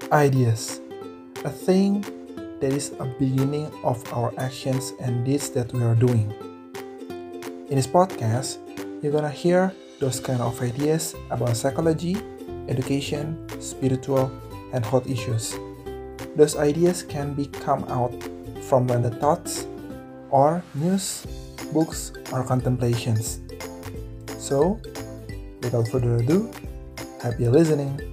Ideas, a thing that is a beginning of our actions and deeds that we are doing. In this podcast, you're gonna hear those kind of ideas about psychology, education, spiritual, and health issues. Those ideas can be come out from random thoughts or news, books, or contemplations. So, without further ado, happy listening.